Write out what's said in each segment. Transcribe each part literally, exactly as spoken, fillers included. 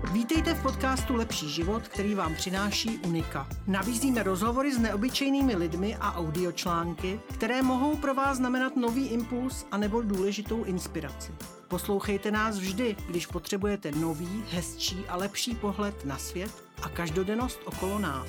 Vítejte v podcastu Lepší život, který vám přináší Unika. Nabízíme rozhovory s neobyčejnými lidmi a audiočlánky, které mohou pro vás znamenat nový impuls anebo důležitou inspiraci. Poslouchejte nás vždy, když potřebujete nový, hezčí a lepší pohled na svět a každodennost okolo nás.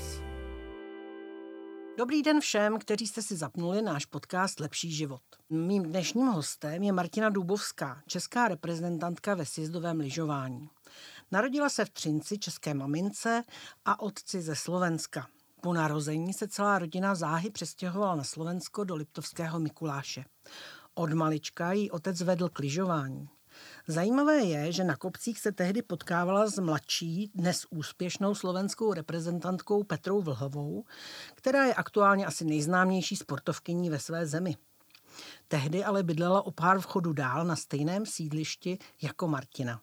Dobrý den všem, kteří jste si zapnuli náš podcast Lepší život. Mým dnešním hostem je Martina Dubovská, česká reprezentantka ve sjezdovém lyžování. Narodila se v Třinci české mamince a otci ze Slovenska. Po narození se celá rodina záhy přestěhovala na Slovensko do Liptovského Mikuláše. Od malička jí otec vedl k lyžování. Zajímavé je, že na kopcích se tehdy potkávala s mladší, dnes úspěšnou slovenskou reprezentantkou Petrou Vlhovou, která je aktuálně asi nejznámější sportovkyní ve své zemi. Tehdy ale bydlela o pár vchodů dál na stejném sídlišti jako Martina.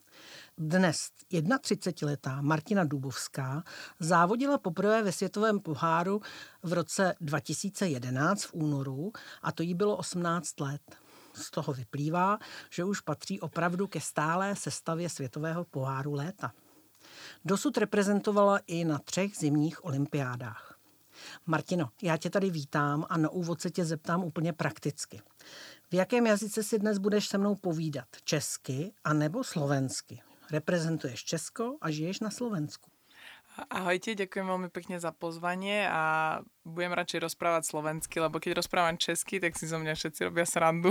Dnes třicetiletá Martina Dubovská závodila poprvé ve světovém poháru v roce dva tisíce jedenáct v únoru a to jí bylo osmnáct let. Z toho vyplývá, že už patří opravdu ke stálé sestavě světového poháru léta. Dosud reprezentovala i na třech zimních olympiádách. Martino, já tě tady vítám a na úvod se tě zeptám úplně prakticky. V jakém jazyce si dnes budeš se mnou povídat? Česky anebo slovensky? Reprezentuješ Česko a žiješ na Slovensku. Ahojte, ďakujem veľmi pekne za pozvanie a budem radšej rozprávať slovensky, lebo keď rozprávam česky, tak si zo mňa všetci robia srandu.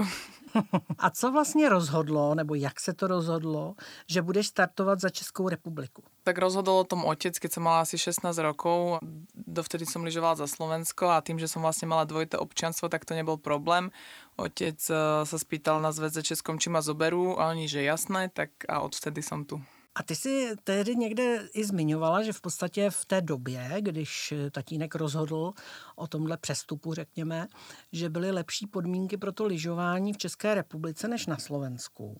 A co vlastně rozhodlo, nebo jak se to rozhodlo, že budeš startovat za Českou republiku? Tak rozhodol o tom otec, keď som mala asi šestnásť rokov. Dovtedy som lyžovala za Slovensko a tým, že som vlastne mala dvojité občianstvo, tak to nebol problém. Otec sa spýtal na zväze Českom, či ma zoberú a oni, že jasné, tak a odvtedy som tu. A ty si tehdy někde i zmiňovala, že v podstatě v té době, když tatínek rozhodl o tomhle přestupu, řekněme, že byly lepší podmínky pro to lyžování v České republice než na Slovensku.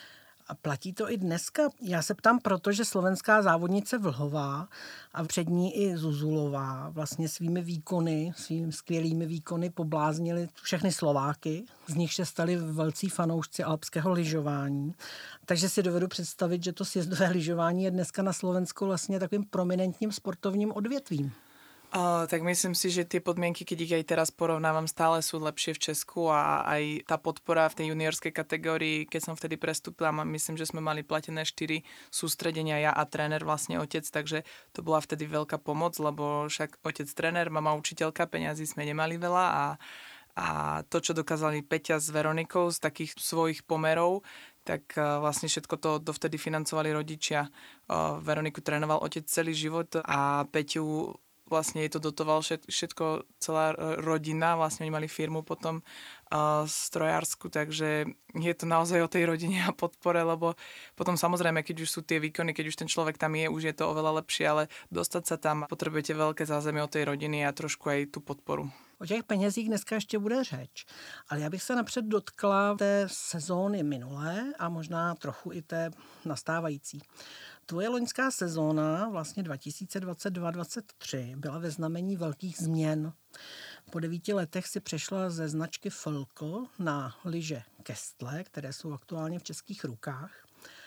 A platí to i dneska? Já se ptám proto, že slovenská závodnice Vlhová a před ní i Zuzulová vlastně svými výkony, svými skvělými výkony pobláznili všechny Slováky, z nich se stali velcí fanoušci alpského lyžování. Takže si dovedu představit, že to sjezdové lyžování je dneska na Slovensku vlastně takovým prominentním sportovním odvětvím. Uh, tak myslím si, že tie podmienky, keď ich aj teraz porovnávam, stále sú lepšie v Česku a aj tá podpora v tej juniorskej kategórii, keď som vtedy prestúpila, myslím, že sme mali platené štyri sústredenia, ja a tréner, vlastne otec, takže to bola vtedy veľká pomoc, lebo však otec tréner, mama učiteľka, peňazí sme nemali veľa a, a to, čo dokázali Peťa s Veronikou z takých svojich pomerov, tak uh, vlastne všetko to dovtedy financovali rodičia. Uh, Veroniku trénoval otec celý život a Peťu vlastne jej to dotoval všetko, celá rodina, vlastne oni mali firmu potom uh, strojársku, takže je to naozaj o tej rodine a podpore, lebo potom samozrejme, keď už sú tie výkony, keď už ten človek tam je, už je to oveľa lepšie, ale dostať sa tam potrebujete veľké zázemie od tej rodiny a trošku aj tú podporu. O těch penězích dneska ještě bude řeč, ale já bych se napřed dotkla té sezóny minulé a možná trochu i té nastávající. Tvoje loňská sezóna, vlastně dva tisíce dvacet dva dvacet tři, byla ve znamení velkých změn. Po devíti letech si přešla ze značky Vlko na lyže Kestle, které jsou aktuálně v českých rukách.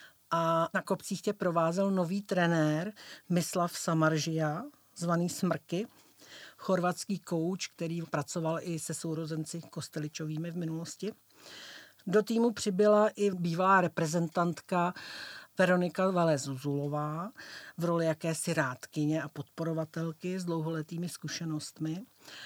A na kopcích tě provázel nový trenér Mislav Samaržija, zvaný Smrky, chorvatský kouč, který pracoval i se sourozenci Kosteličovými v minulosti. Do týmu přibyla i bývalá reprezentantka Veronika Velez-Zuzulová v roli jakési rádkyně a podporovatelky s dlouholetými zkušenostmi.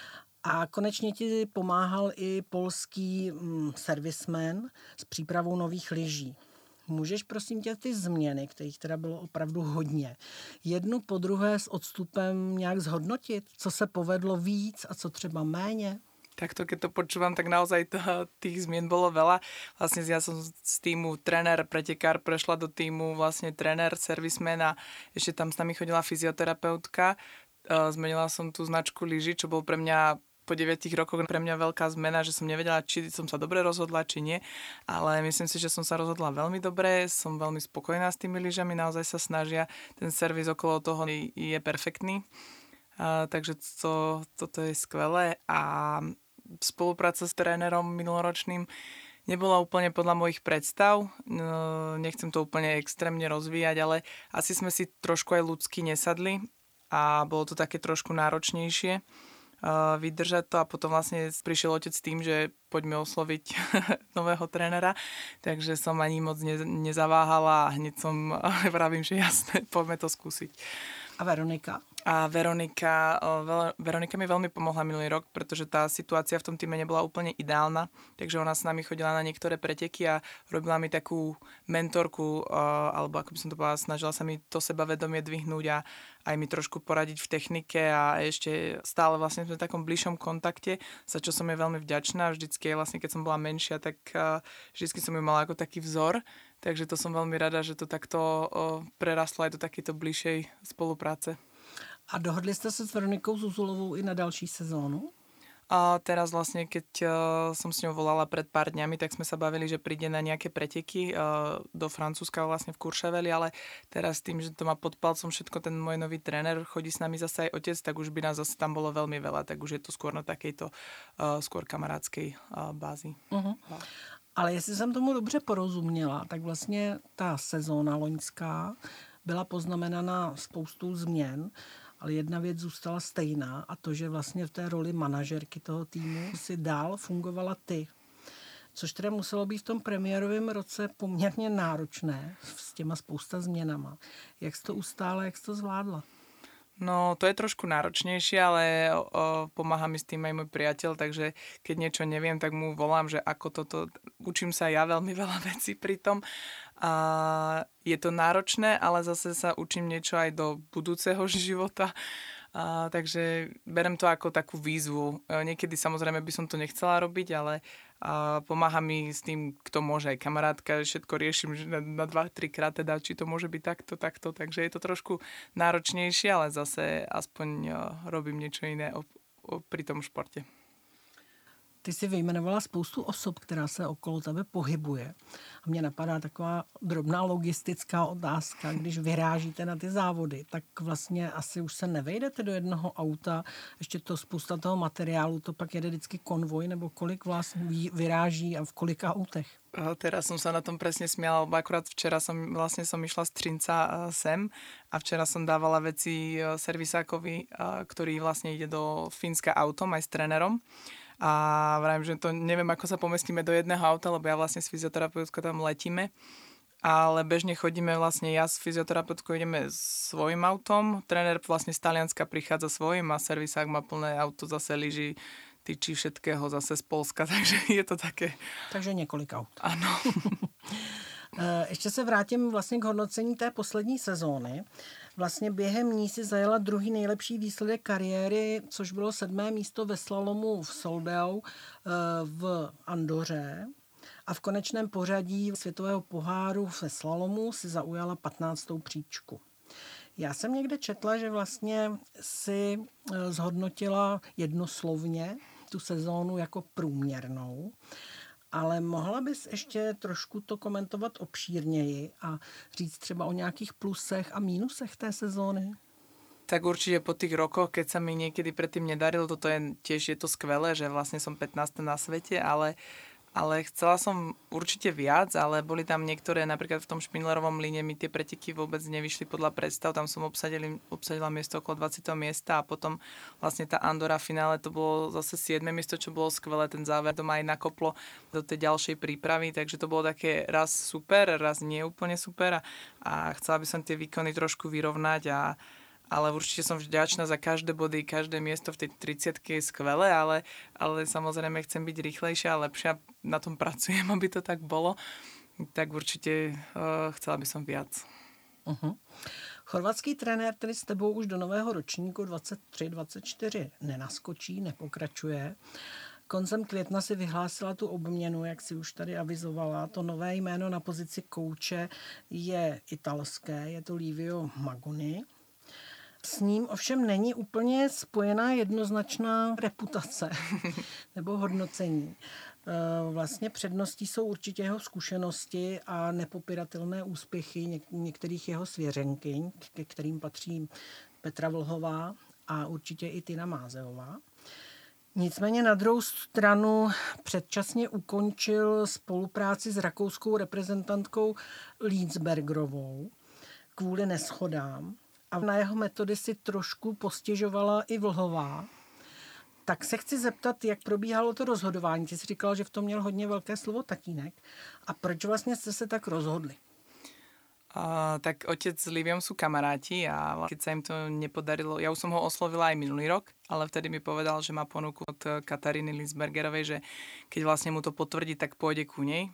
A konečně ti pomáhal i polský mm, servisman s přípravou nových lyží. Můžeš prosím tě ty změny, kterých teda bylo opravdu hodně, jednu po druhé s odstupem nějak zhodnotit, co se povedlo víc a co třeba méně? Takto, keď to počúvam, tak naozaj to, tých zmien bolo veľa. Vlastne ja som z týmu tréner pretekár prešla do týmu vlastne tréner, servisman a ešte tam s nami chodila fyzioterapeutka. Zmenila som tú značku lyží, čo bol pre mňa po deviatich rokoch pre mňa veľká zmena, že som nevedela, či som sa dobre rozhodla, či nie. Ale myslím si, že som sa rozhodla veľmi dobre, som veľmi spokojná s tými lyžami, naozaj sa snažia. Ten servis okolo toho je perfektný. Uh, takže to, toto je skvelé a spolupráca s trénerom minuloročným nebola úplne podľa mojich predstav. Nechcem to úplne extrémne rozvíjať, ale asi sme si trošku aj ľudsky nesadli a bolo to také trošku náročnejšie vydržať to a potom vlastne prišiel otec s tým, že poďme osloviť nového trénera, takže som ani moc ne, nezaváhala a hneď som vravím, že jasné, poďme to skúsiť. A Veronika? A Veronika, Veronika mi veľmi pomohla minulý rok, pretože tá situácia v tom týme nebola úplne ideálna, takže ona s nami chodila na niektoré preteky a robila mi takú mentorku, alebo ako by som to povedala, snažila sa mi to sebavedomie dvihnúť a aj mi trošku poradiť v technike a ešte stále vlastne sme v takom bližšom kontakte, za čo som jej veľmi vďačná. Vždycky vlastne, keď som bola menšia, tak vždycky som ju mala ako taký vzor, takže to som veľmi rada, že to takto prerastlo aj do takéto bližšej spolupráce. A dohodli jste se s Veronikou Zuzulovou i na další sezónu? A teraz vlastne, keď uh, som s ňou volala pred pár dňami, tak sme sa bavili, že príde na nejaké preteky uh, do Francúzska vlastne v Courcheveli, ale teraz tým, že to má pod palcom všetko ten môj nový tréner, chodí s nami zase aj otec, tak už by nás zase tam bolo veľmi veľa, tak už je to skôr na takejto uh, skôr kamarádskej uh, bázi. Uh-huh. Ale jestli jsem tomu dobře porozuměla, tak vlastně ta sezóna loňská byla poznamenaná spoustou změn, ale jedna věc zůstala stejná a to, že vlastně v té roli manažerky toho týmu si dál fungovala ty. Což teda muselo být v tom premiérovém roce poměrně náročné s těma spousta změnama. Jak jsi to ustála, jak jsi to zvládla? No, to je trošku náročnejšie, ale o, o, pomáha mi s tým aj môj priateľ, takže keď niečo neviem, tak mu volám, že ako toto, učím sa ja veľmi veľa vecí pri tom. A je to náročné, ale zase sa učím niečo aj do budúceho života. A, takže berem to ako takú výzvu. Niekedy samozrejme by som to nechcela robiť, ale a pomáha mi s tým, kto môže, aj kamarátka, všetko riešim na, na dva, tri krát, teda, či to môže byť takto, takto, takže je to trošku náročnejšie, ale zase aspoň uh, robím niečo iné o, o, pri tom športe. Ty jsi vyjmenovala spoustu osob, která se okolo tebe pohybuje. A mně napadá taková drobná logistická otázka, když vyrážíte na ty závody, tak vlastně asi už se nevejdete do jednoho auta, ještě to spousta toho materiálu, to pak jede vždycky konvoj, nebo kolik vlastně vyráží a v kolika autech? Teraz som sa na tom presne smiala, lebo akurát včera som vlastne som išla z Třinca sem a včera som dávala veci servisákovi, ktorý vlastne ide do Fínska autom aj s trénerom. A vravím, že to neviem, ako sa pomestíme do jedného auta, lebo ja vlastne s fyzioterapeutkou tam letíme. Ale bežne chodíme vlastne, ja s fyzioterapeutkou ideme svojim autom, tréner vlastne z Talianska prichádza svojim a servisák má plné auto, zase lyží, tyčí všetkého zase z Polska, takže je to také... Takže několik aut. Ano. Ještě se vrátím vlastně k hodnocení té poslední sezóny. Vlastně během ní si zajela druhý nejlepší výsledek kariéry, což bylo sedmé místo ve slalomu v Soldau v Andoře. A v konečném pořadí světového poháru ve slalomu si zaujala patnáctou příčku. Já jsem někde četla, že vlastně si zhodnotila jednoslovně tu sezónu jako průměrnou, ale mohla bys ještě trošku to komentovat obšírněji a říct třeba o nějakých plusech a mínusech té sezóny? Tak určite po tých rokoch, keď sa mi niekedy predtým nedarilo, toto je tiež je to skvelé, že vlastne som pätnásty na svete, ale Ale chcela som určite viac, ale boli tam niektoré, napríklad v tom Špindlerovom líne mi tie preteky vôbec nevyšli podľa predstav, tam som obsadili, obsadila miesto okolo dvadsiateho miesta a potom vlastne tá Andora finále, to bolo zase siedme miesto, čo bolo skvelé, ten záver to ma aj nakoplo do tej ďalšej prípravy, takže to bolo také raz super, raz nie úplne super a, a chcela by som tie výkony trošku vyrovnať a ale určite som vďačná za každé body, každé miesto v tej tridsiatke je skvelé, ale, ale samozrejme chcem byť rýchlejšia a lepšia, na tom pracujem, aby to tak bolo, tak určite uh, chcela by som viac. Uh-huh. Chorvatský trenér, který s tebou už do nového ročníku dvacet tři dvacet čtyři nenaskočí, nepokračuje. Koncem května si vyhlásila tu obměnu, jak si už tady avizovala. To nové jméno na pozici kouče je italské, je to Livio Magoni. S ním ovšem není úplně spojená jednoznačná reputace nebo hodnocení. Vlastně předností jsou určitě jeho zkušenosti a nepopiratelné úspěchy něk- některých jeho svěřenkyň, ke kterým patří Petra Vlhová a určitě i Tina Mázeová. Nicméně na druhou stranu předčasně ukončil spolupráci s rakouskou reprezentantkou Liedzbergerovou kvůli neshodám a na jeho metody si trošku postěžovala i Vlhová. Tak se chci zeptat, jak probíhalo to rozhodování. Ty jsi říkala, že v tom měl hodně velké slovo tatínek. A proč vlastně jste se tak rozhodli? Uh, tak otec s Liviom sú kamaráti a keď sa im to nepodarilo, ja už som ho oslovila aj minulý rok, ale vtedy mi povedal, že má ponuku od Kataríny Liedzbergerovej, že keď vlastne mu to potvrdí, tak pôjde ku nej.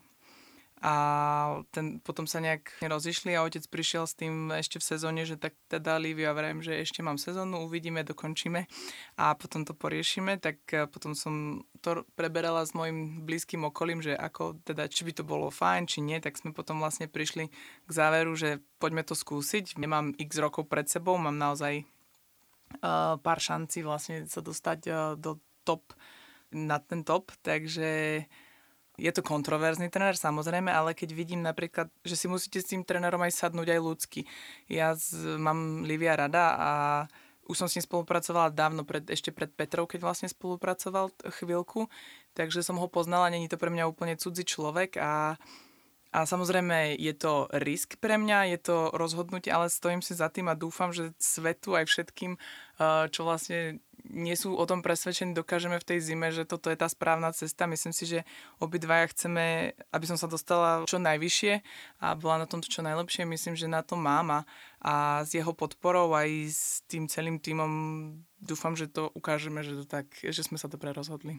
A ten, potom sa nejak rozišli a otec prišiel s tým ešte v sezóne, že tak teda Liviu a vrajem, že ešte mám sezónu, uvidíme, dokončíme a potom to poriešime, tak potom som to preberala s mojim blízkym okolím, že ako teda, či by to bolo fajn, či nie, tak sme potom vlastne prišli k záveru, že poďme to skúsiť. Nemám x rokov pred sebou, mám naozaj uh, pár šancí vlastne sa dostať uh, do top, na ten top, takže je to kontroverzný tréner, samozrejme, ale keď vidím napríklad, že si musíte s tým trénerom aj sadnúť aj ľudsky. Ja z, mám Livia rada a už som s ním spolupracovala dávno, pred, ešte pred Petrou, keď vlastne spolupracoval chvíľku, takže som ho poznala, není to pre mňa úplne cudzí človek a, a samozrejme je to risk pre mňa, je to rozhodnutie, ale stojím si za tým a dúfam, že svetu aj všetkým, čo vlastne nie sú o tom presvedčení, dokážeme v tej zime, že toto je tá správna cesta. Myslím si, že obidvaja chceme, aby som sa dostala čo najvyššie a bola na tomto čo najlepšie. Myslím, že na to mám a, a s jeho podporou aj s tým celým tímom dúfam, že to ukážeme, že, to tak, že sme sa dobre rozhodli.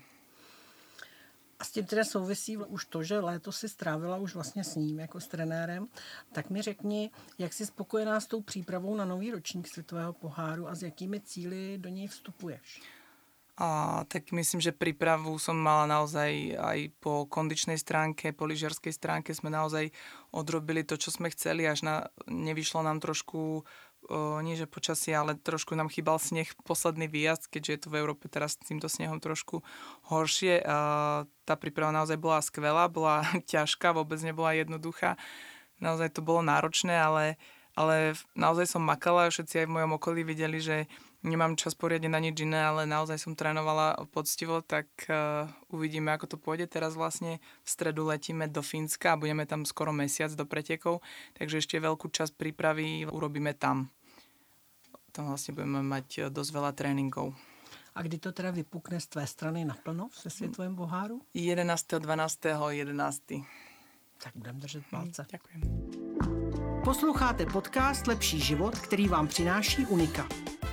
A s tím teda souvisí už to, že léto si strávila už vlastně s ním jako s trenérem. Tak mi řekni, jak jsi spokojená s tou přípravou na nový ročník světového poháru a s jakými cíli do něj vstupuješ? A, tak myslím, že prípravu som mala naozaj aj po kondičnej stránke, po lyžiarskej stránke sme naozaj odrobili to, čo sme chceli, až na, nevyšlo nám trošku, o, nie že počasie, ale trošku nám chýbal sneh, posledný výjazd, keďže je tu v Európe teraz s týmto snehom trošku horšie. A, tá príprava naozaj bola skvelá, bola ťažká, vôbec nebola jednoduchá. Naozaj to bolo náročné, ale, ale naozaj som makala, všetci aj v mojom okolí videli, že nemám čas poriadne na nič iné, ale naozaj som trénovala poctivo, tak uh, uvidíme, ako to pôjde. Teraz vlastne v stredu letíme do Fínska a budeme tam skoro mesiac do pretekov, takže ešte veľkú časť prípravy urobíme tam. Tam vlastne budeme mať dosť veľa tréningov. A kdy to teda vypukne z tvé strany naplno ve světovém poháru? jedenásteho dvanásteho jedenásteho Tak budeme držet palce. Hmm, ďakujem. Posloucháte podcast Lepší život, který vám přináší Unika.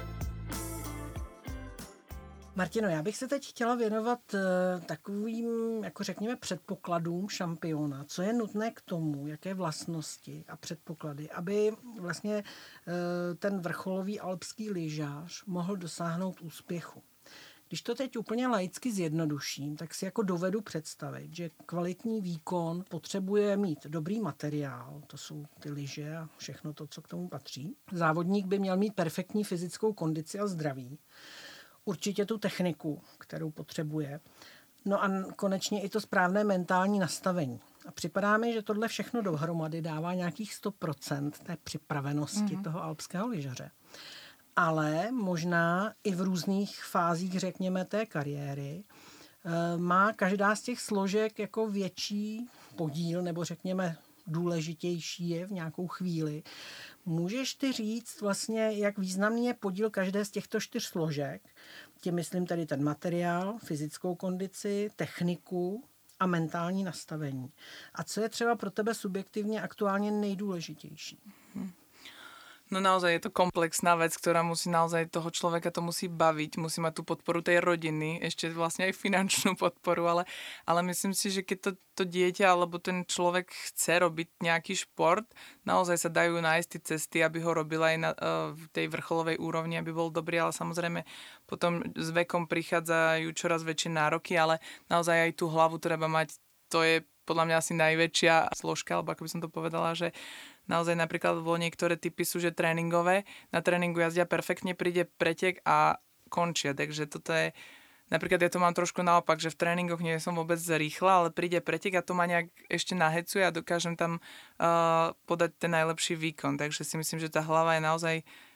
Martino, já bych se teď chtěla věnovat takovým, jako řekněme, předpokladům šampiona. Co je nutné k tomu, jaké vlastnosti a předpoklady, aby vlastně ten vrcholový alpský lyžař mohl dosáhnout úspěchu. Když to teď úplně laicky zjednoduším, tak si jako dovedu představit, že kvalitní výkon potřebuje mít dobrý materiál, to jsou ty lyže a všechno to, co k tomu patří. Závodník by měl mít perfektní fyzickou kondici a zdraví. Určitě tu techniku, kterou potřebuje. No a konečně i to správné mentální nastavení. A připadá mi, že tohle všechno dohromady dává nějakých sto procent té připravenosti mm-hmm. toho alpského lyžaře. Ale možná i v různých fázích, řekněme, té kariéry má každá z těch složek jako větší podíl, nebo řekněme důležitější je v nějakou chvíli. Můžeš ty říct vlastně, jak významný je podíl každé z těchto čtyř složek? Tím myslím tedy ten materiál, fyzickou kondici, techniku a mentální nastavení. A co je třeba pro tebe subjektivně aktuálně nejdůležitější? Hmm. No naozaj je to komplexná vec, ktorá musí naozaj toho človeka to musí baviť, musí mať tú podporu tej rodiny, ešte vlastne aj finančnú podporu, ale, ale myslím si, že keď to, to dieťa alebo ten človek chce robiť nejaký šport, naozaj sa dajú nájsť tie cesty, aby ho robil aj na uh, tej vrcholovej úrovni, aby bol dobrý, ale samozrejme potom s vekom prichádzajú čoraz väčšie nároky, ale naozaj aj tú hlavu treba mať, to je podľa mňa asi najväčšia složka, alebo ako by som to povedala, že naozaj napríklad bolo niektoré typy sú, že tréningové, na tréningu jazdia perfektne, príde pretek a končia, takže toto je, napríklad ja to mám trošku naopak, že v tréningoch nie som vôbec rýchla, ale príde pretek a to ma nejak ešte nahecuje a dokážem tam uh, podať ten najlepší výkon, takže si myslím, že tá hlava je naozaj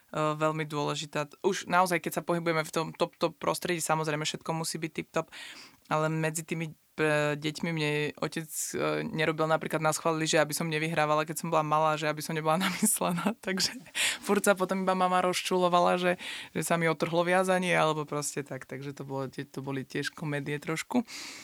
veľmi dôležitá. Už naozaj, keď sa pohybujeme v tom top-top prostredí, samozrejme všetko musí byť tip-top, ale medzi tými deťmi mne otec nerobil napríklad na schvál lyže, aby som nevyhrávala, keď som bola malá, že aby som nebola namyslená. Takže furt sa potom iba mama rozčulovala, že, že sa mi otrhlo viazanie, alebo proste tak. Takže to, bolo, to boli tiež komédie trošku.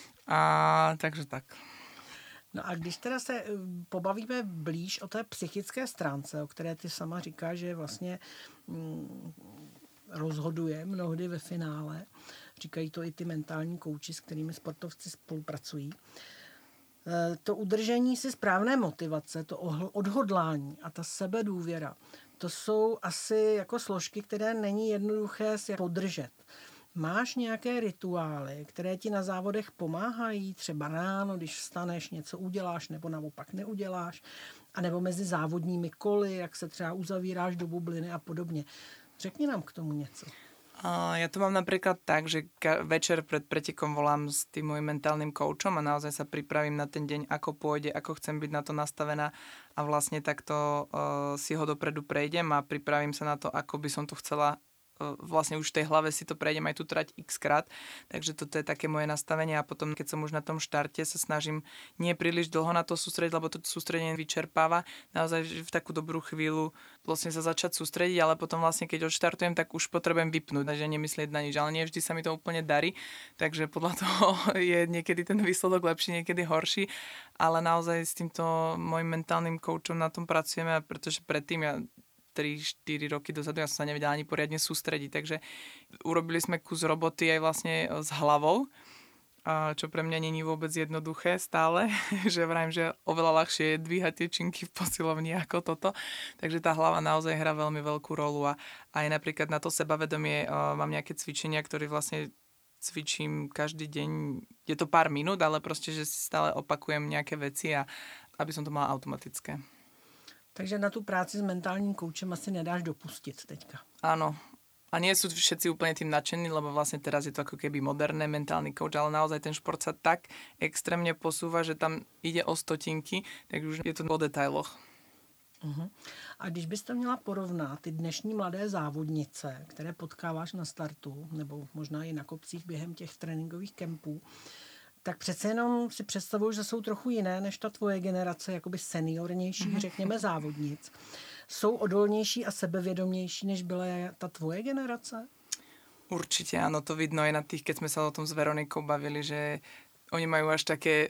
A takže tak. No a když teda se pobavíme blíž o té psychické stránce, o které ty sama říkáš, že vlastně mm, rozhoduje mnohdy ve finále, říkají to i ty mentální kouči, s kterými sportovci spolupracují. To udržení si správné motivace, to odhodlání a ta sebedůvěra, to jsou asi jako složky, které není jednoduché si podržet. Máš nějaké rituály, které ti na závodech pomáhají? Třeba ráno, když vstaneš, něco uděláš, nebo naopak neuděláš? A nebo mezi závodními koly, jak se třeba uzavíráš do bubliny a podobně. Řekni nám k tomu něco. Ja to mám napríklad tak, že večer pred pretekom volám s tým môjim mentálnym koučom a naozaj sa pripravím na ten deň, ako pôjde, ako chcem byť na to nastavená a vlastne takto uh, si ho dopredu prejdem a pripravím sa na to, ako by som to chcela. Vlastne už v tej hlave si to prejdem aj tu trať x krát, takže toto je také moje nastavenie a potom, keď som už na tom štarte, sa snažím nie príliš dlho na to sústrediť, lebo to sústredenie vyčerpáva. Naozaj v takú dobrú chvíľu vlastne sa začať sústrediť, ale potom vlastne, keď odštartujem, tak už potrebujem vypnúť, takže nemyslieť na nič, ale nie vždy sa mi to úplne darí, takže podľa toho je niekedy ten výsledok lepší, niekedy horší, ale naozaj s týmto môjim mentálnym koučom na tom pracujeme, pretože predtým ja tri štyri roky dozadu ja som sa nevedela ani poriadne sústrediť, takže urobili sme kus roboty aj vlastne s hlavou, čo pre mňa není vôbec jednoduché stále, že vrajím, že oveľa ľahšie je dvíhať tie činky v posilovni ako toto, takže tá hlava naozaj hrá veľmi veľkú rolu a aj napríklad na to sebavedomie mám nejaké cvičenia, ktoré vlastne cvičím každý deň, je to pár minút, ale proste, že si stále opakujem nejaké veci a aby som to mala automatické. Takže na tu práci s mentálním koučem asi nedáš dopustit teďka. Áno. A nie sú všetci úplne tým nadšení, lebo vlastne teraz je to ako keby moderné mentálny kouč, ale naozaj ten šport sa tak extrémne posúva, že tam ide o stotinky, tak už je to o detailoch. Uh-huh. A když byste měla porovnat ty dnešní mladé závodnice, které potkáváš na startu, nebo možná i na kopcích během těch tréninkových kempů, tak přece jenom si představuju, že jsou trochu jiné než ta tvoje generace, jakoby seniornější, řekněme, závodnic. Jsou odolnější a sebevědomější, než byla ta tvoje generace? Určite, áno, to vidno aj na tých, keď sme sa o tom s Veronikou bavili, že oni majú až také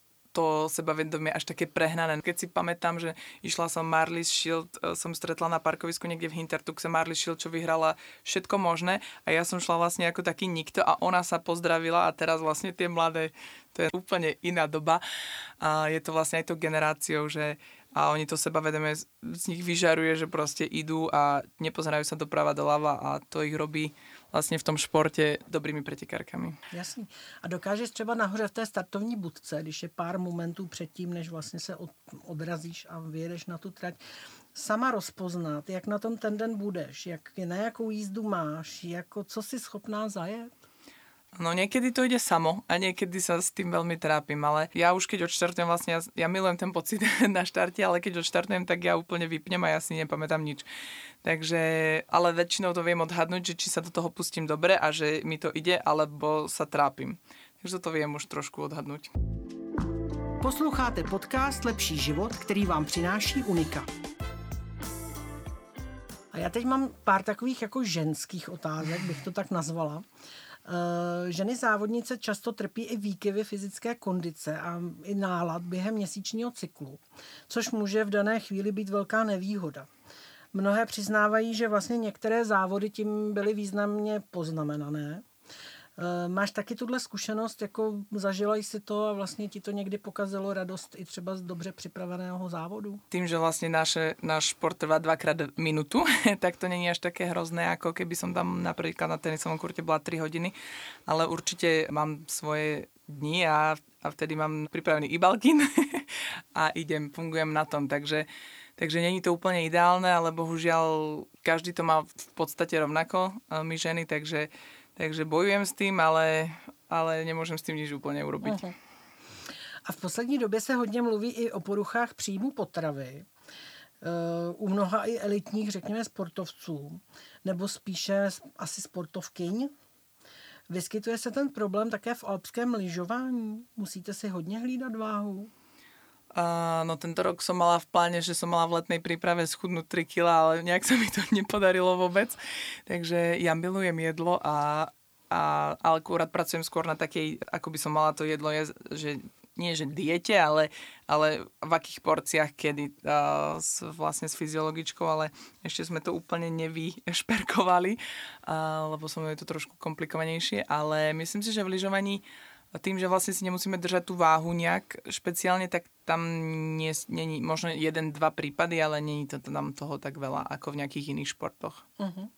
to sebavedomie až také prehnané. Keď si pamätám, že išla som Marlies Shield, som stretla na parkovisku niekde v Hintertuxe Marlies Shield, čo vyhrala všetko možné a ja som šla vlastne ako taký nikto a ona sa pozdravila a teraz vlastne tie mladé, to je úplne iná doba a je to vlastne aj tou generáciou, že a oni to sebavedomie z nich vyžaruje, že proste idú a nepozerajú sa doprava doľava a to ich robí vlastně v tom športě dobrými pretekárkami. Jasný. A dokážeš třeba nahoře v té startovní budce, když je pár momentů předtím, než vlastně se od, odrazíš a vyjedeš na tu trať, sama rozpoznat, jak na tom ten den budeš, jak, na jakou jízdu máš, jako co si schopná zajet? No niekedy to ide samo a niekedy sa s tým veľmi trápim, ale ja už keď odštartujem vlastne, ja, ja milujem ten pocit na štarte, ale keď odštartujem, tak ja úplne vypnem a ja si nepamätám nič. Takže, ale väčšinou to viem odhadnúť, že či sa do toho pustím dobre a že mi to ide, alebo sa trápim. Takže to viem už trošku odhadnúť. Posloucháte podcast Lepší život, který vám přináší Unika. A já teď mám pár takových jako ženských otázek, bych to tak nazvala. Ženy závodnice často trpí i výkyvy fyzické kondice a i nálad během měsíčního cyklu, což může v dané chvíli být velká nevýhoda. Mnohé přiznávají, že vlastně některé závody tím byly významně poznamenané. Máš taky tuhle zkušenost, jako zažila jsi to a vlastně ti to někdy pokazilo radost i třeba z dobře připraveného závodu? Tým, že vlastne naše, náš šport trvá dvakrát minútu, tak to není až také hrozné, ako keby som tam napríklad na tenisovom kurte bola tri hodiny, ale určite mám svoje dni a, a vtedy mám pripravený e-balkin a idem, fungujem na tom, takže Takže není to úplne ideálne, ale bohužiaľ každý to má v podstate rovnako, my ženy, takže Takže bojujem s tým, ale, ale nemôžem s tým nič úplne urobiť. Uh-huh. A v poslední době se hodně mluví i o poruchách příjmu potravy. u mnoha i elitních, řekněme, sportovců, nebo spíše asi sportovkyň, vyskytuje se ten problém také v alpském lyžování? Musíte si hodně hlídat váhu? Uh, no tento rok som mala v pláne, že som mala v letnej príprave schudnúť tri kilá, ale nejak sa mi to nepodarilo vôbec. Takže ja milujem jedlo a, a ale akurát pracujem skôr na takej, ako by som mala to jedlo jesť, že nie že diete, ale, ale v akých porciách kedy uh, s, vlastne s fyziologičkou, ale ešte sme to úplne nevyšperkovali, uh, lebo som je to trošku komplikovanejšie, ale myslím si, že v lyžovaní tým, že vlastne si nemusíme držať tú váhu nejak špeciálne, tak tam nie, nie možno jeden, dva prípady, ale nie je to tam toho tak veľa ako v nejakých iných športoch. Uh-huh.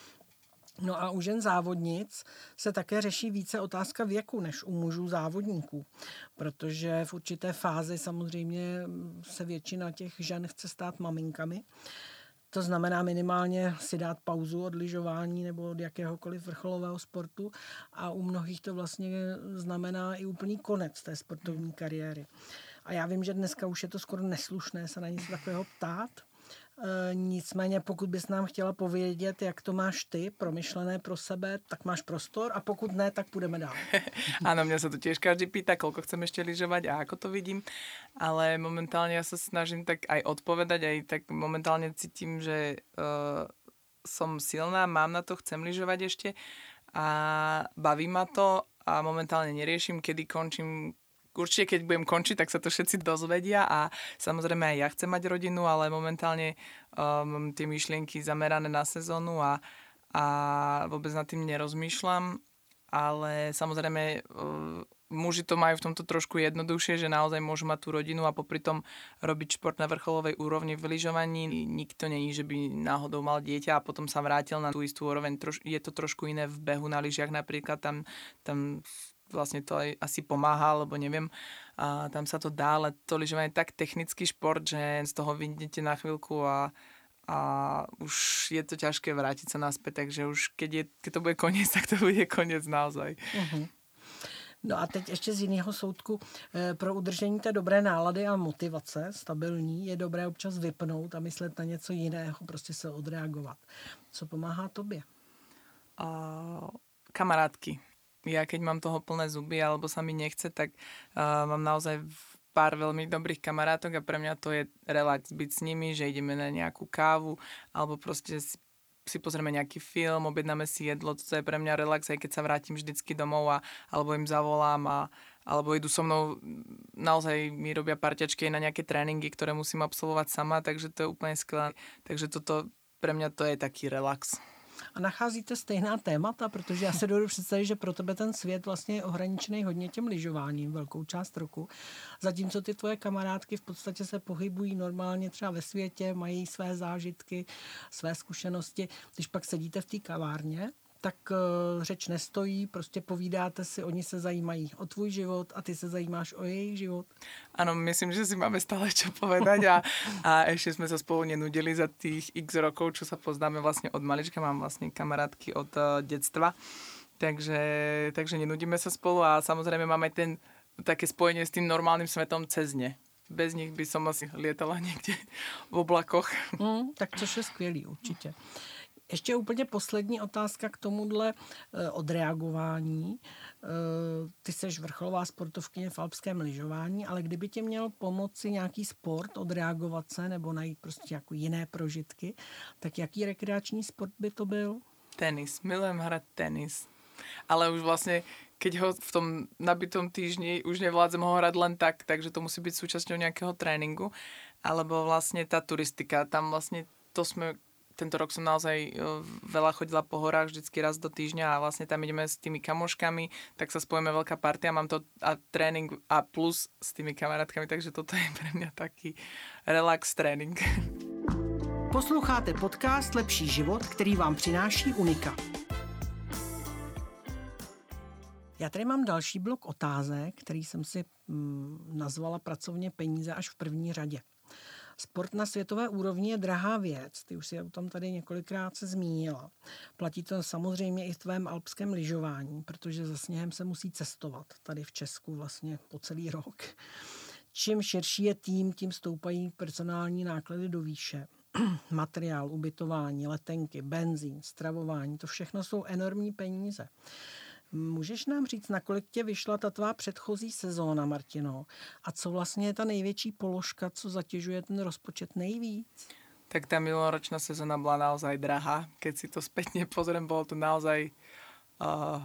No a u žen závodnic se také řeší více otázka věku než u mužů závodníků, protože v určité fázi samozřejmě se většina těch žen chce stát maminkami. To znamená minimálně si dát pauzu od lyžování nebo od jakéhokoliv vrcholového sportu a u mnohých to vlastně znamená i úplný konec té sportovní kariéry. A já vím, že dneska už je to skoro neslušné se na něco takového ptát. E, nicméně pokud bys nám chtěla povědět, jak to máš ty, promyšlené pro sebe, tak máš prostor a pokud ne, tak půjdeme dál. Áno, mňa sa to tiež každý pýta, koľko chcem ešte lyžovať a ako to vidím, ale momentálne ja sa snažím tak aj odpovedať, aj tak momentálne cítim, že uh, som silná, mám na to, chcem lyžovať ešte a baví ma to a momentálne neriešim, kedy končím. Určite, keď budem končiť, tak sa to všetci dozvedia a samozrejme aj ja chcem mať rodinu, ale momentálne um, tie myšlienky zamerané na sezónu a, a vôbec nad tým nerozmýšľam, ale samozrejme uh, muži to majú v tomto trošku jednoduchšie, že naozaj môžu mať tú rodinu a popri tom robiť šport na vrcholovej úrovni v lyžovaní. Nikto není, že by náhodou mal dieťa a potom sa vrátil na tú istú úroveň. Troš, je to trošku iné v behu na lyžiach napríklad, tam, tam vlastne to aj asi pomáha, alebo neviem, a tam sa to dá, ale to lyžovanie je tak technický šport, že z toho vyjdete na chvíľku a, a už je to ťažké vrátiť sa naspäť, takže už keď, je, keď to bude koniec, tak to bude koniec naozaj. Uh-huh. No a teď ještě z jiného soudku. Pro udržení té dobré nálady a motivace stabilní je dobré občas vypnout a myslet na něco jiného, prostě se odreagovat. Co pomáhá tobě? Uh, kamarátky. Ja keď mám toho plné zuby alebo sa mi nechce, tak uh, mám naozaj pár veľmi dobrých kamarátok a pre mňa to je relax byť s nimi, že ideme na nejakú kávu alebo proste si, si pozrieme nejaký film, objednáme si jedlo, to je pre mňa relax, aj keď sa vrátim vždycky domov a, alebo im zavolám a, alebo idú so mnou, naozaj mi robia parťačky na nejaké tréningy, ktoré musím absolvovať sama, takže to je úplne skvelé. Takže toto pre mňa to je taký relax. A nacházíte stejná témata, protože já se dovedu představit, že pro tebe ten svět vlastně je ohraničený hodně tím lyžováním velkou část roku. Zatímco ty tvoje kamarádky v podstatě se pohybují normálně třeba ve světě, mají své zážitky, své zkušenosti. Když pak sedíte v té kavárně, tak uh, řeč nestojí, prostě povídáte si, oni se zajímají o tvůj život a ty se zajímáš o jejich život. Áno, myslím, že si máme stále čo povedať a, a ešte sme sa spolu nenudili za tých x rokov, čo sa poznáme vlastne od malička, mám vlastne kamarátky od uh, detstva, takže, takže nenudíme sa spolu a samozrejme máme ten také spojenie s tým normálnym svetom cez ne. Bez nich by som asi lietala niekde v oblakoch. Mm, tak což je skvělý určitě. Ještě úplně poslední otázka k tomuhle e, odreagování. E, ty seš vrcholová sportovkyně v alpském lyžování, ale kdyby tě měl pomoci nějaký sport odreagovat se nebo najít prostě jako jiné prožitky, tak jaký rekreační sport by to byl? Tenis. Milujem hrať tenis. Ale už vlastne, keď ho v tom nabitom týždni už nevládzem ho hrať len tak, takže to musí byť súčasťou nejakého tréningu. Alebo vlastne tá turistika. Tam vlastne to sme... Tento rok som naozaj veľa chodila po horách, vždycky raz do týždňa a vlastne tam ideme s tými kamoškami, tak sa spojíme veľká partia, mám to a tréning a plus s tými kamarátkami, takže toto je pre mňa taký relax trénink. Posloucháte podcast Lepší život, který vám přináší Unika. Já tady mám další blok otázek, který jsem si mm, nazvala pracovně peníze až v první řadě. Sport na světové úrovni je drahá věc, ty už si o tom tady několikrát se zmínila. Platí to samozřejmě i v tvém alpském lyžování, protože za sněhem se musí cestovat tady v Česku vlastně po celý rok. čím širší je tým, tím stoupají personální náklady do výše. Materiál, ubytování, letenky, benzín, stravování, to všechno jsou enormní peníze. Můžeš nám říct, nakolik tě vyšla ta tvá předchozí sezóna, Martino? A co vlastně je ta největší položka, co zatěžuje ten rozpočet nejvíc? Tak tá minuloročná sezóna bola naozaj drahá. Keď si to spätne pozriem, bolo to naozaj uh,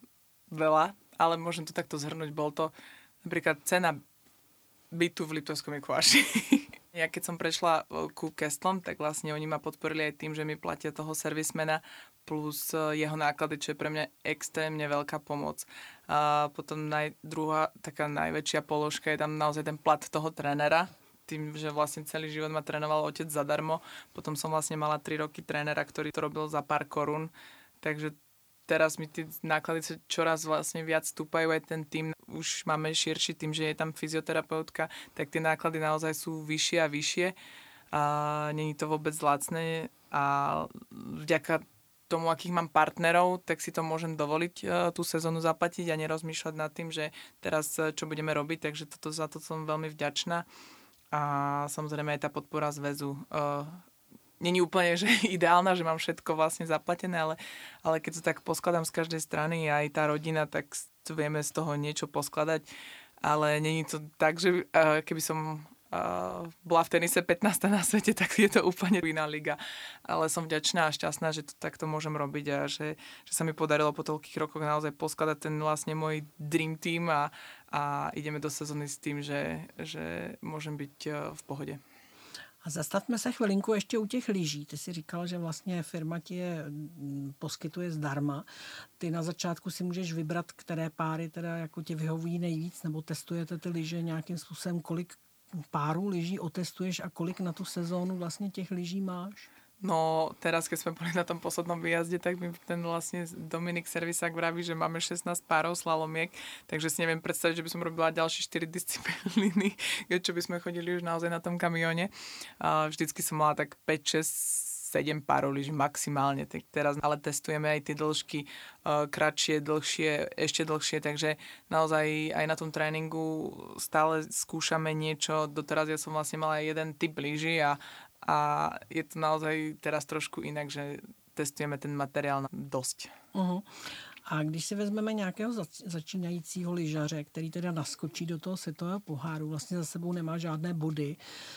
veľa, ale môžem to takto zhrnúť. Bol to napríklad cena bytu v Liptovskom Mikuláši. Ja keď som prešla ku Kestlom, tak vlastne oni ma podporili aj tým, že mi platia toho servismena plus jeho náklady, čo je pre mňa extrémne veľká pomoc. A potom naj, druhá taká najväčšia položka je tam naozaj ten plat toho trénera, tým, že vlastne celý život ma trénoval otec zadarmo. Potom som vlastne mala tri roky trénera, ktorý to robil za pár korún. Takže teraz mi tie náklady čoraz vlastne viac stúpajú, aj ten tým už máme širší tým, že je tam fyzioterapeutka, tak tie náklady naozaj sú vyššie a vyššie. A není to vôbec lacné a vďaka tomu, akých mám partnerov, tak si to môžem dovoliť uh, tú sezónu zaplatiť a nerozmýšľať nad tým, že teraz uh, čo budeme robiť, takže toto, za to som veľmi vďačná. A samozrejme aj tá podpora zväzu. Uh, Není úplne že ideálna, že mám všetko vlastne zaplatené, ale, ale keď to tak poskladám z každej strany a aj tá rodina, tak vieme z toho niečo poskladať. Ale není to tak, že uh, keby som Uh, bola v tenise pätnásta na svete, tak je to úplne iná liga. Ale som vďačná a šťastná, že to takto môžem robiť a že, že sa mi podarilo po toľkých rokoch naozaj poskladať ten vlastne môj dream team a, a ideme do sezóny s tým, že, že môžem byť uh, v pohode. A zastavme se chvilinku ještě u těch lyží. Ty si říkal, že vlastně firma ti je poskytuje zdarma. Ty na začátku si můžeš vybrat, které páry teda jako tě vyhovují nejvíc, nebo testujete ty lyže nějakým způsobem, kolik párů lyží otestuješ a kolik na tu sezónu vlastně těch lyží máš? No teraz, keď sme boli na tom poslednom výjazde, tak mi ten vlastne Dominik Servisák vraví, že máme šestnásť párov slalomiek, takže si neviem predstaviť, že by som robila ďalšie štyri disciplíny, čo by sme chodili už naozaj na tom kamióne. A vždycky som mala tak päť, šesť, sedem párov lyží maximálne, tak teraz ale testujeme aj tie dĺžky uh, kratšie, dlhšie, ešte dlhšie, takže naozaj aj na tom tréningu stále skúšame niečo. Doteraz ja som vlastne mala jeden typ lyží a A je to naozaj teraz trošku inak, že testujeme ten materiál dosť. Uh-huh. A když si vezmeme nějakého zač- začínajícího lyžaře, který teda naskočí do toho světového poháru, vlastně za sebou nemá žádné body,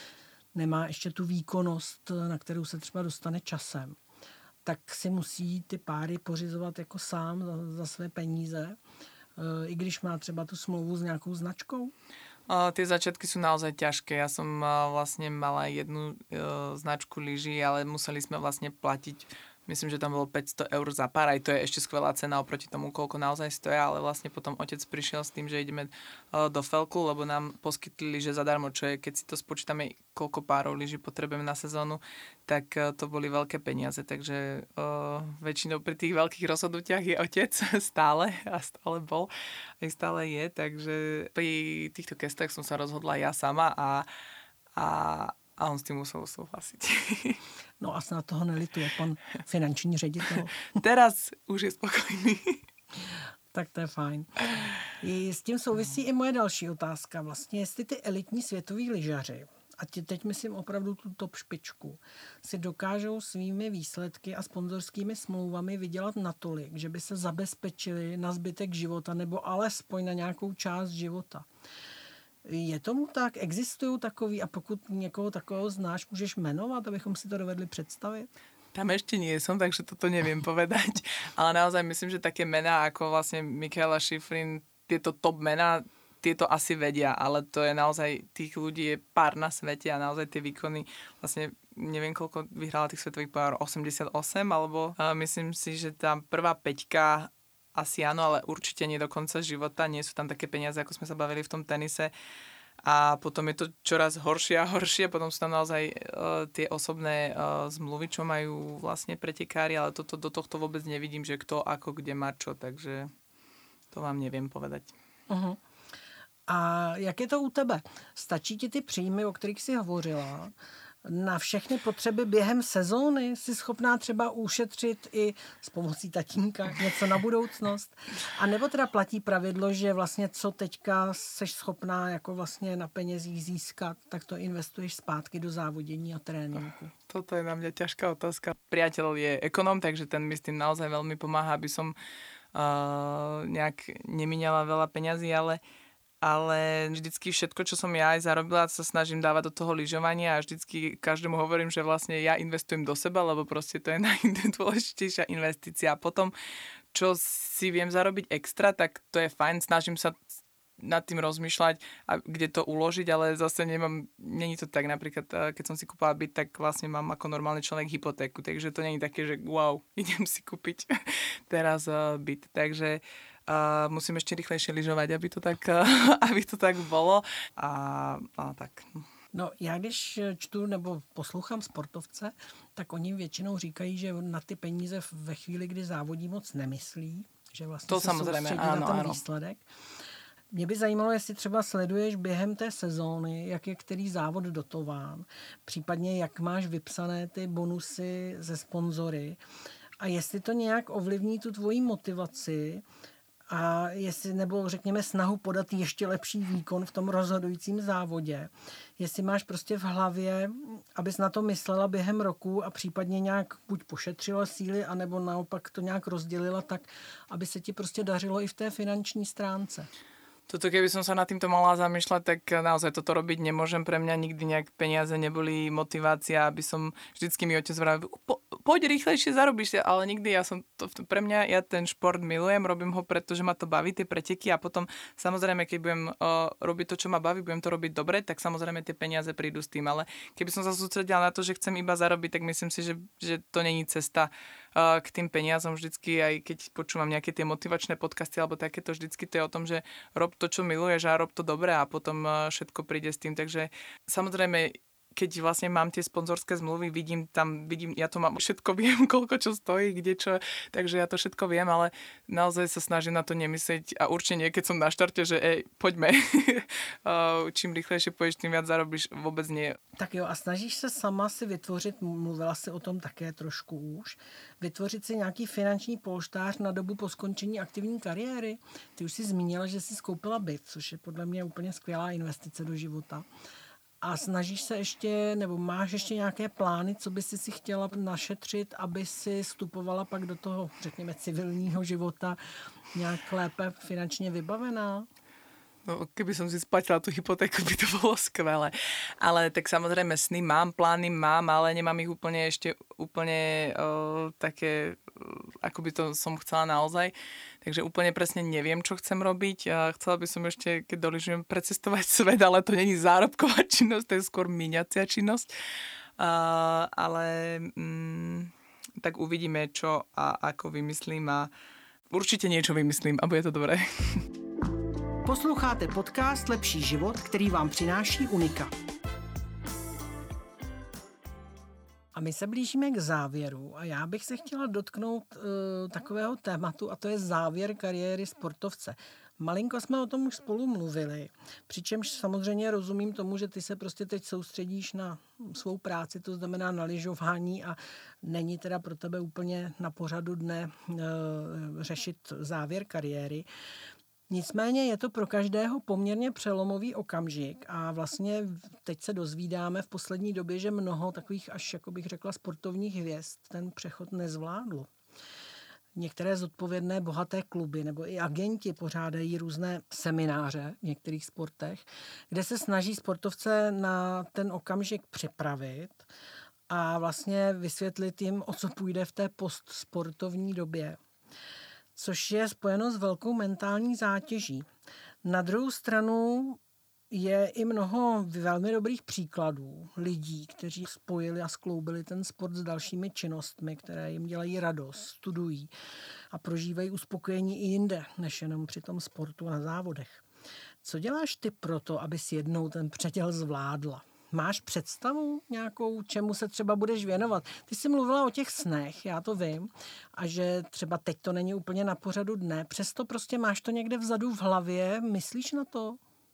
nemá ještě tu výkonnost, na kterou se třeba dostane časem, tak si musí ty páry pořizovat jako sám za, za své peníze, e, i když má třeba tu smlouvu s nějakou značkou? Uh, tie začiatky sú naozaj ťažké. Ja som uh, vlastne mala jednu uh, značku lyží, ale museli sme vlastne platiť, myslím, že tam bolo päťsto eur za pár, aj to je ešte skvelá cena oproti tomu, koľko naozaj stoja, ale vlastne potom otec prišiel s tým, že ideme uh, do Felku, lebo nám poskytli lyže zadarmo, čo je, keď si to spočítame, koľko párov lyží potrebujeme na sezónu, tak uh, to boli veľké peniaze, takže uh, väčšinou pri tých veľkých rozhodnutiach je otec stále a stále bol, aj stále je, takže pri týchto kestách som sa rozhodla ja sama a, a A on s tím musel souhlasit. No a snad toho nelituje pan finanční ředitel. Teraz už je spokojný. Tak to je fajn. I s tím souvisí i moje další otázka. Vlastně, jestli ty elitní světoví lyžaři, a teď myslím opravdu tu top špičku, si dokážou svými výsledky a sponzorskými smlouvami vydělat natolik, že by se zabezpečili na zbytek života nebo alespoň na nějakou část života. Je tomu tak? Existují takový a pokud někoho takového znáš, můžeš jmenovat, abychom si to dovedli představit? Tam ešte nie som, takže toto neviem povedať. Ale naozaj myslím, že také mená ako vlastne Mikaela Shiffrin, tieto top mená, tieto asi vedia, ale to je naozaj, tých ľudí je pár na svete a naozaj tie výkony, vlastne neviem koľko vyhrala tých svetových pohárov, osemdesiatosem, alebo uh, myslím si, že tam prvá peťka asi áno, ale určite nie do konca života. Nie sú tam také peniaze, ako sme sa bavili v tom tenise. A potom je to čoraz horšie a horšie. Potom sú tam naozaj uh, tie osobné uh, zmluvy, čo majú vlastne pretekári, ale toto, do tohto vôbec nevidím, že kto ako kde má čo. Takže to vám neviem povedať. Uh-huh. A jak je to u tebe? Stačí ti ty příjmy, o kterých jsi hovořila? na všechny potřeby během sezóny? Jsi schopná třeba ušetřit i s pomocí tatínka něco na budoucnost? A nebo teda platí pravidlo, že vlastně co teďka seš schopná jako vlastně na penězích získat, tak to investuješ zpátky do závodění a tréninku? Toto je na mňa ťažká otázka. Priateľ je ekonóm, takže ten mi s tým naozaj veľmi pomáha, aby som uh, nejak nemíňala veľa peňazí, ale ale vždycky všetko, čo som ja aj zarobila, sa snažím dávať do toho lyžovania a vždycky každému hovorím, že vlastne ja investujem do seba, lebo proste to je najdôležitejšia investícia. A potom, čo si viem zarobiť extra, tak to je fajn, snažím sa nad tým rozmýšľať a kde to uložiť, ale zase nemám, není to tak, napríklad keď som si kúpala byt, tak vlastne mám ako normálny človek hypotéku, takže to není také, že wow, idem si kúpiť teraz byt, takže Uh, musím ešte rýchlejšie lyžovať, aby to tak, uh, aby to tak bolo. A, a tak. No, já když čtu nebo poslouchám sportovce, tak oni většinou říkají, že na ty peníze ve chvíli, kdy závodí, moc nemyslí, že vlastně to se samozřejmě, soustředí ano, na ten ano. výsledek. Mě by zajímalo, jestli třeba sleduješ během té sezóny, jak je který závod dotován, případně jak máš vypsané ty bonusy ze sponzory a jestli to nějak ovlivní tu tvoji motivaci a jestli, nebo řekněme snahu podat ještě lepší výkon v tom rozhodujícím závodě. Jestli máš prostě v hlavě, abys na to myslela během roku a případně nějak buď pošetřila síly, anebo naopak to nějak rozdělila tak, aby se ti prostě dařilo i v té finanční stránce. Toto, keby som sa nad týmto mala zamýšľať, tak naozaj toto robiť nemôžem. Pre mňa nikdy nejak peniaze neboli motivácia, aby som vždycky mi otec vravel, po, poď rýchlejšie, zarobíš si, ale nikdy ja som to, pre mňa, ja ten šport milujem, robím ho preto, že ma to baví, tie preteky a potom samozrejme, keď budem uh, robiť to, čo ma baví, budem to robiť dobre, tak samozrejme tie peniaze prídu s tým, ale keby som sa sústredila na to, že chcem iba zarobiť, tak myslím si, že, že to není cesta uh, k tým peniazom. Vždycky, aj keď počúvam nejaké tie motivačné podcasty alebo takéto, vždycky to je o tom, že rob to, čo miluješ a rob to dobre a potom všetko príde s tým. Takže samozrejme, keď vlastne mám tie sponzorské zmluvy, vidím tam, vidím, ja to mám, všetko viem, koľko čo stojí, kde čo, takže ja to všetko viem, ale naozaj sa snažím na to nemyslieť a určite nie, keď som na štarte, že ej, poďme, čím rýchlejšie pôjdeš, tým viac zarobíš, vôbec nie. Tak jo, a snažíš se sama si vytvořit, mluvila si o tom také trošku už, vytvořit si nějaký finanční polštář na dobu po skončení aktivní kariéry? Ty už si zmínila, že jsi skoupila byt, což je podle mě úplně skvělá investice do života. A snažíš se ještě, nebo máš ještě nějaké plány, co by si si chtěla našetřit, aby si vstupovala pak do toho, řekněme, civilního života nějak lépe finančně vybavená? No, keby som si splatila tú hypotéku, by to bolo skvelé. Ale tak samozrejme sny mám, plány mám, ale nemám ich úplne ešte úplne uh, také, uh, ako by to som chcela naozaj. Takže úplne presne neviem, čo chcem robiť. Uh, chcela by som ešte, keď dolyžujem, precestovať svet, ale to není zárobková činnosť, to je skôr míňacia činnosť. Uh, ale um, tak uvidíme, čo a ako vymyslím a určite niečo vymyslím a bude to dobré. Posloucháte podcast Lepší život, který vám přináší Unika. A my se blížíme k závěru a já bych se chtěla dotknout uh, takového tématu a to je závěr kariéry sportovce. Malinko jsme o tom už spolu mluvili, přičemž samozřejmě rozumím tomu, že ty se prostě teď soustředíš na svou práci, to znamená na lyžování a není teda pro tebe úplně na pořadu dne uh, řešit závěr kariéry. Nicméně je to pro každého poměrně přelomový okamžik a vlastně teď se dozvídáme v poslední době, že mnoho takových až, jako bych řekla, sportovních hvězd ten přechod nezvládlo. Některé zodpovědné bohaté kluby nebo i agenti pořádají různé semináře v některých sportech, kde se snaží sportovce na ten okamžik připravit a vlastně vysvětlit jim, o co půjde v té postsportovní době, což je spojeno s velkou mentální zátěží. Na druhou stranu je i mnoho velmi dobrých příkladů lidí, kteří spojili a skloubili ten sport s dalšími činnostmi, které jim dělají radost, studují a prožívají uspokojení i jinde, než jenom při tom sportu na závodech. Co děláš ty proto, abys jednou ten předěl zvládla? Máš představu nějakou, čemu se třeba budeš věnovat? Ty jsi mluvila o těch snech, já to vím, a že třeba teď to není úplně na pořadu dne, přesto prostě máš to někde vzadu v hlavě, myslíš na to?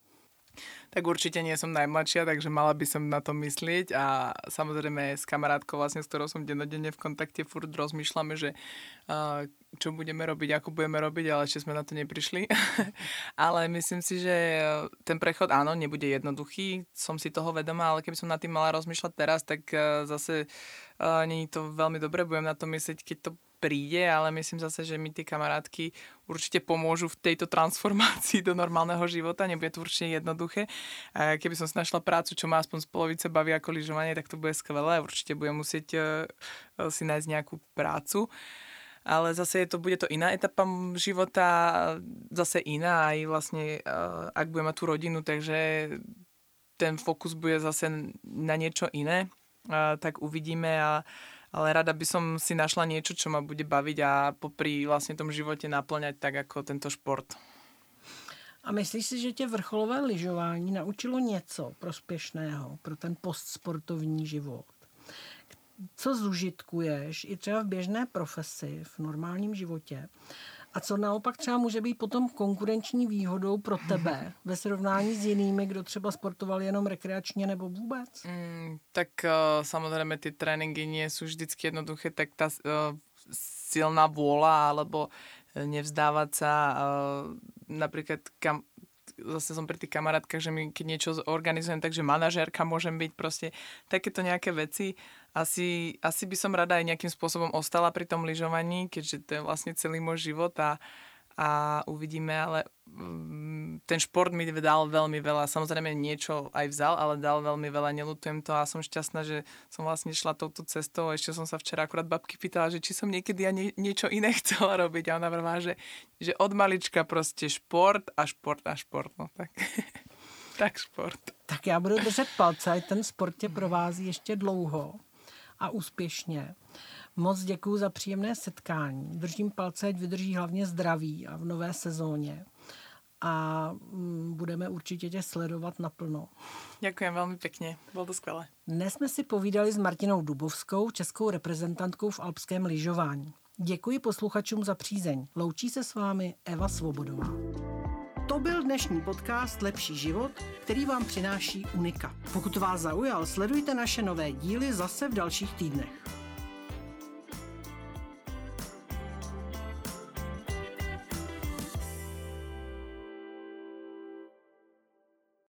Tak určite nie som najmladšia, takže mala by som na to myslieť a samozrejme s kamarátkou, vlastne, s ktorou som dennodenne v kontakte, furt rozmýšľame, že uh, čo budeme robiť, ako budeme robiť, ale ešte sme na to neprišli. Ale myslím si, že ten prechod, áno, nebude jednoduchý, som si toho vedomá, ale keby som nad tým mala rozmýšľať teraz, tak uh, zase uh, nie je to veľmi dobré, budem na to myslieť, keď to príde, ale myslím zase, že mi tie kamarátky určite pomôžu v tejto transformácii do normálneho života. Nebude to určite jednoduché. A keby som si našla prácu, čo ma aspoň z polovice baví ako lyžovanie, tak to bude skvelé. Určite budem musieť uh, si nájsť nejakú prácu. Ale zase je to, bude to iná etapa života, zase iná aj vlastne, uh, ak budem mať tú rodinu, takže ten fokus bude zase na niečo iné. Uh, tak uvidíme a ale rada by som si našla niečo, čo ma bude baviť a popri vlastne tom živote naplňať tak ako tento šport. A myslíš si, že tě vrcholové lyžování naučilo něco prospěšného pro ten postsportovní život? Co zužitkuješ i třeba v běžné profesi, v normálním životě? A co naopak třeba může být potom konkurenční výhodou pro tebe ve srovnání s jinými, kdo třeba sportoval jenom rekreačně nebo vůbec? Mm, tak uh, samozrejme tie tréningy nie sú vždycky jednoduché, tak tá uh, silná vôľa alebo nevzdávať sa uh, napríklad kam, zase som pri tých kamarátkach, že my keď niečo organizujem, takže manažérka môžem byť proste takéto nejaké veci. Asi, asi by som rada aj nejakým spôsobom ostala pri tom lyžovaní, keďže to je vlastne celý môj život a, a uvidíme, ale um, ten šport mi dal veľmi veľa. Samozrejme niečo aj vzal, ale dal veľmi veľa, neľutujem to a som šťastná, že som vlastne šla touto cestou. Ešte som sa včera akurát babky pýtala, že či som niekedy ja nie, niečo iné chcela robiť a ona vrvá, že, že od malička proste šport a šport a šport. No tak, tak šport. Tak já budu držet palce, ať ten sport tě provází ještě dlouho a úspěšně. Moc děkuju za příjemné setkání. Držím palce, ať vydrží hlavně zdraví a v nové sezóně. A budeme určitě tě sledovat naplno. Ďakujem veľmi pekne, bolo to skvelé. Dnes jsme si povídali s Martinou Dubovskou, českou reprezentantkou v alpském lyžování. Děkuji posluchačům za přízeň. Loučí se s vámi Eva Svobodová. To byl dnešní podcast Lepší život, který vám přináší Unika. Pokud vás zaujal, sledujte naše nové díly zase v dalších týdnech.